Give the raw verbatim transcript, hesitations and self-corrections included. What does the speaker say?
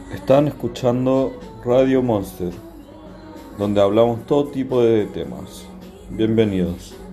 Están escuchando Radio Monster, donde hablamos todo tipo de temas. Bienvenidos.